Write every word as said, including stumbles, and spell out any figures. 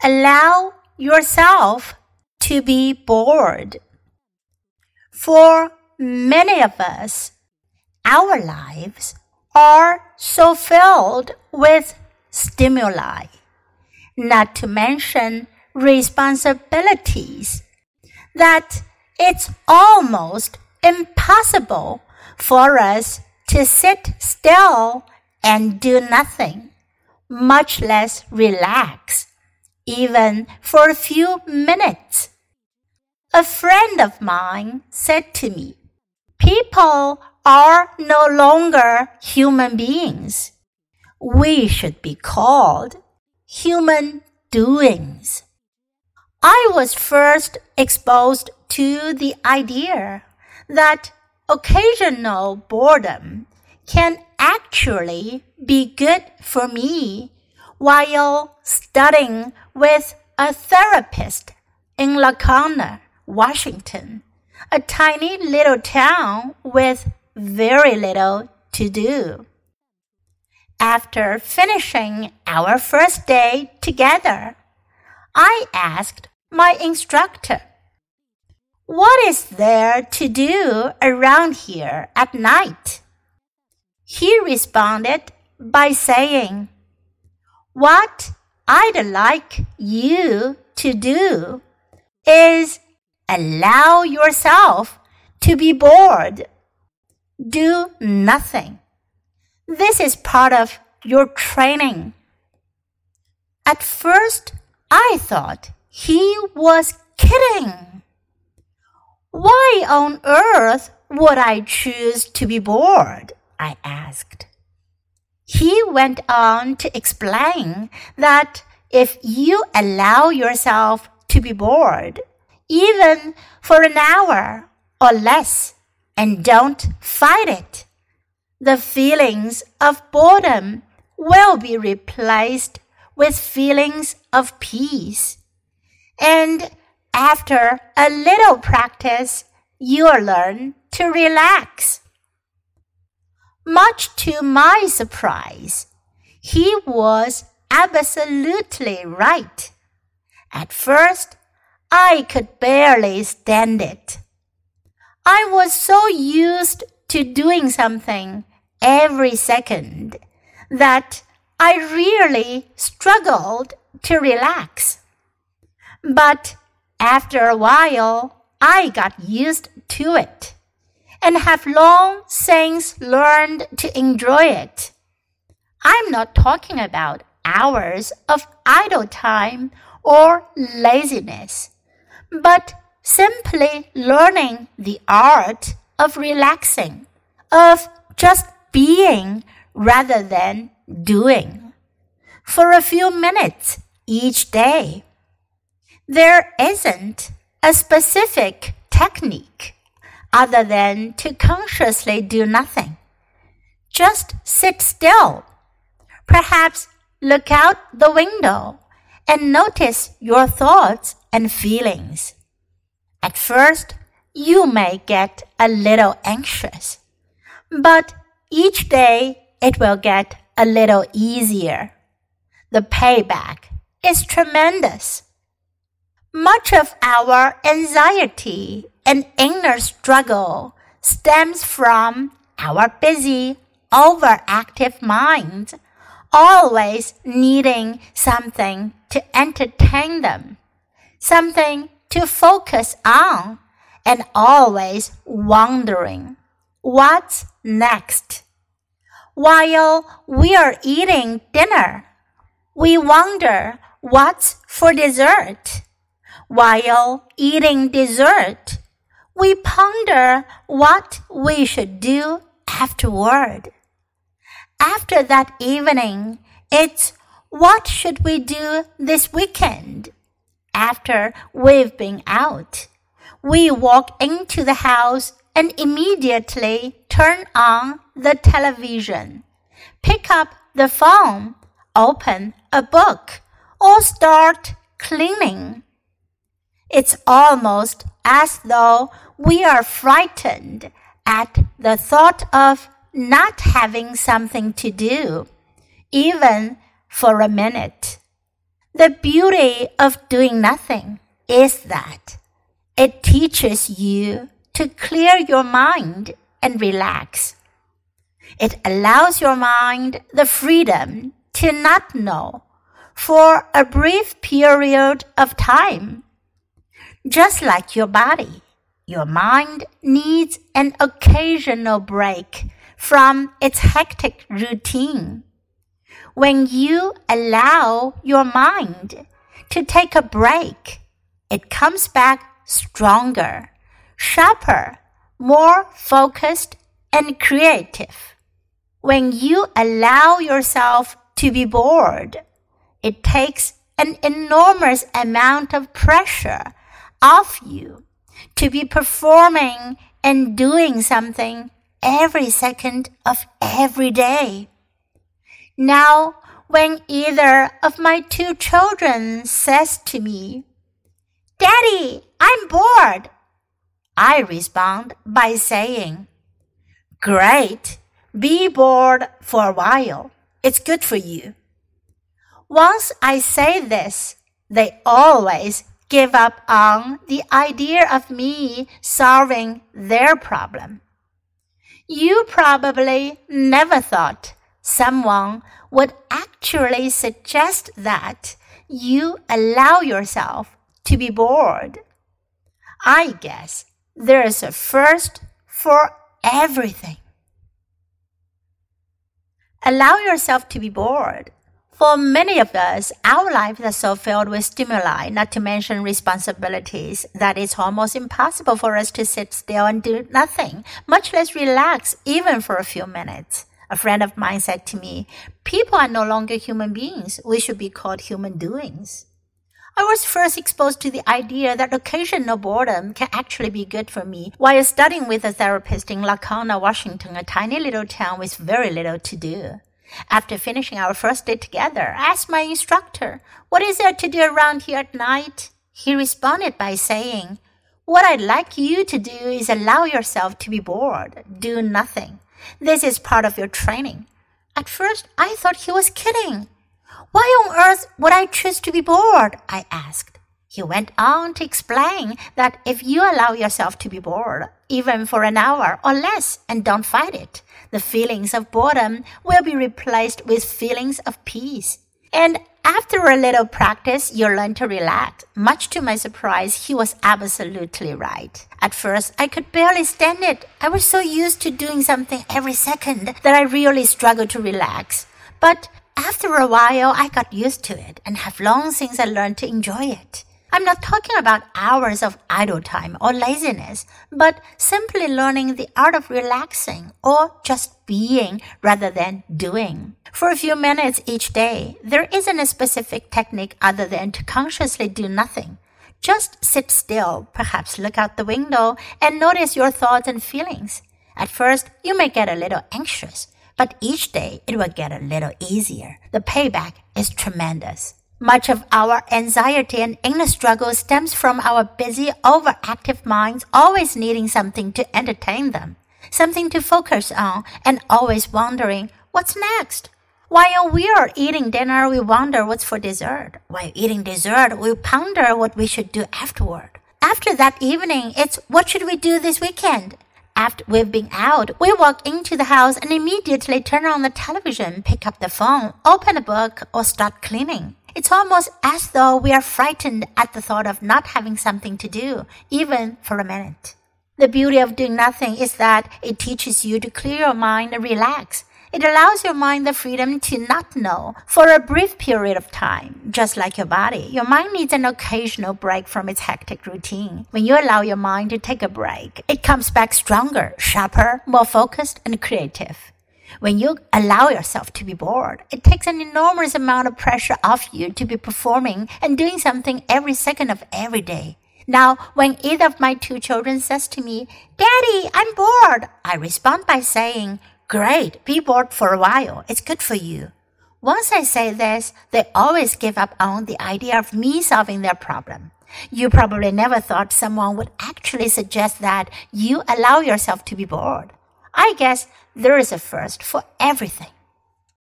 Allow yourself to be bored. For many of us, our lives are so filled with stimuli, not to mention responsibilities, that it's almost impossible for us to sit still and do nothing, much less relax, even for a few minutes. A friend of mine said to me, "People are no longer human beings. We should be called human doings." I was first exposed to the idea that occasional boredom can actually be good for me while studying with a therapist in Lacona, Washington, a tiny little town with very little to do. After finishing our first day together, I asked my instructor, "What is there to do around here at night?" He responded by saying, "What I'd like you to do is allow yourself to be bored. Do nothing. This is part of your training." At first, I thought he was kidding. "Why on earth would I choose to be bored?" I asked. He went on to explain that if you allow yourself to be bored, even for an hour or less, and don't fight it, the feelings of boredom will be replaced with feelings of peace. And after a little practice, you'll learn to relax. Much to my surprise, he was absolutely right. At first, I could barely stand it. I was so used to doing something every second that I really struggled to relax. But after a while, I got used to it, and have long since learned to enjoy it. I'm not talking about hours of idle time or laziness, but simply learning the art of relaxing, of just being rather than doing, for a few minutes each day. There isn't a specific technique other than to consciously do nothing. Just sit still. Perhaps look out the window and notice your thoughts and feelings. At first, you may get a little anxious, but each day it will get a little easier. The payback is tremendous. Much of our anxiety and inner struggle stems from our busy, overactive minds, always needing something to entertain them, something to focus on, and always wondering, what's next? While we are eating dinner, we wonder what's for dessert. While eating dessert, we ponder what we should do afterward. After that evening, it's what should we do this weekend? After we've been out, we walk into the house and immediately turn on the television, pick up the phone, open a book, or start cleaning. It's almost as though we are frightened at the thought of not having something to do, even for a minute. The beauty of doing nothing is that it teaches you to clear your mind and relax. It allows your mind the freedom to not know for a brief period of time. Just like your body, your mind needs an occasional break from its hectic routine. When you allow your mind to take a break, it comes back stronger, sharper, more focused, and creative. When you allow yourself to be bored, it takes an enormous amount of pressure off you to be performing and doing something every second of every day. Now, when either of my two children says to me, "Daddy, I'm bored," I respond by saying, "Great, be bored for a while. It's good for you." Once I say this, they always give up on the idea of me solving their problem. You probably never thought someone would actually suggest that you allow yourself to be bored. I guess there's a first for everything. Allow yourself to be bored. For many of us, our lives are so filled with stimuli, not to mention responsibilities, that it's almost impossible for us to sit still and do nothing, much less relax, even for a few minutes. A friend of mine said to me, "People are no longer human beings. We should be called human doings." I was first exposed to the idea that occasional boredom can actually be good for me while studying with a therapist in Lacona, Washington, a tiny little town with very little to do. After finishing our first day together, I asked my instructor, "What is there to do around here at night?" He responded by saying, "What I'd like you to do is allow yourself to be bored. Do nothing. This is part of your training." At first, I thought he was kidding. "Why on earth would I choose to be bored?" I asked. He went on to explain that if you allow yourself to be bored, even for an hour or less, and don't fight it, the feelings of boredom will be replaced with feelings of peace. And after a little practice, you'll learn to relax. Much to my surprise, he was absolutely right. At first, I could barely stand it. I was so used to doing something every second that I really struggled to relax. But after a while, I got used to it and have long since I learned to enjoy it. I'm not talking about hours of idle time or laziness, but simply learning the art of relaxing or just being rather than doing. For a few minutes each day, there isn't a specific technique other than to consciously do nothing. Just sit still, perhaps look out the window, and notice your thoughts and feelings. At first, you may get a little anxious, but each day it will get a little easier. The payback is tremendous. Much of our anxiety and inner struggle stems from our busy, overactive minds always needing something to entertain them, something to focus on, and always wondering, what's next? While we are eating dinner, we wonder what's for dessert. While eating dessert, we ponder what we should do afterward. After that evening, it's what should we do this weekend? After we've been out, we walk into the house and immediately turn on the television, pick up the phone, open a book, or start cleaning. It's almost as though we are frightened at the thought of not having something to do, even for a minute. The beauty of doing nothing is that it teaches you to clear your mind and relax. It allows your mind the freedom to not know for a brief period of time. Just like your body, your mind needs an occasional break from its hectic routine. When you allow your mind to take a break, it comes back stronger, sharper, more focused, and creative. When you allow yourself to be bored, it takes an enormous amount of pressure off you to be performing and doing something every second of every day. Now, when either of my two children says to me, "Daddy, I'm bored," I respond by saying, "Great, be bored for a while. It's good for you." Once I say this, they always give up on the idea of me solving their problem. You probably never thought someone would actually suggest that you allow yourself to be bored. I guess there is a first for everything.